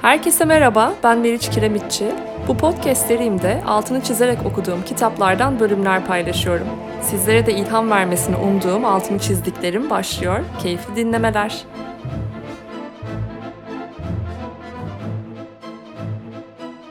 Herkese merhaba, ben Meriç Kiremitçi. Bu podcast serimde altını çizerek okuduğum kitaplardan bölümler paylaşıyorum. Sizlere de ilham vermesini umduğum altını çizdiklerim başlıyor. Keyifli dinlemeler.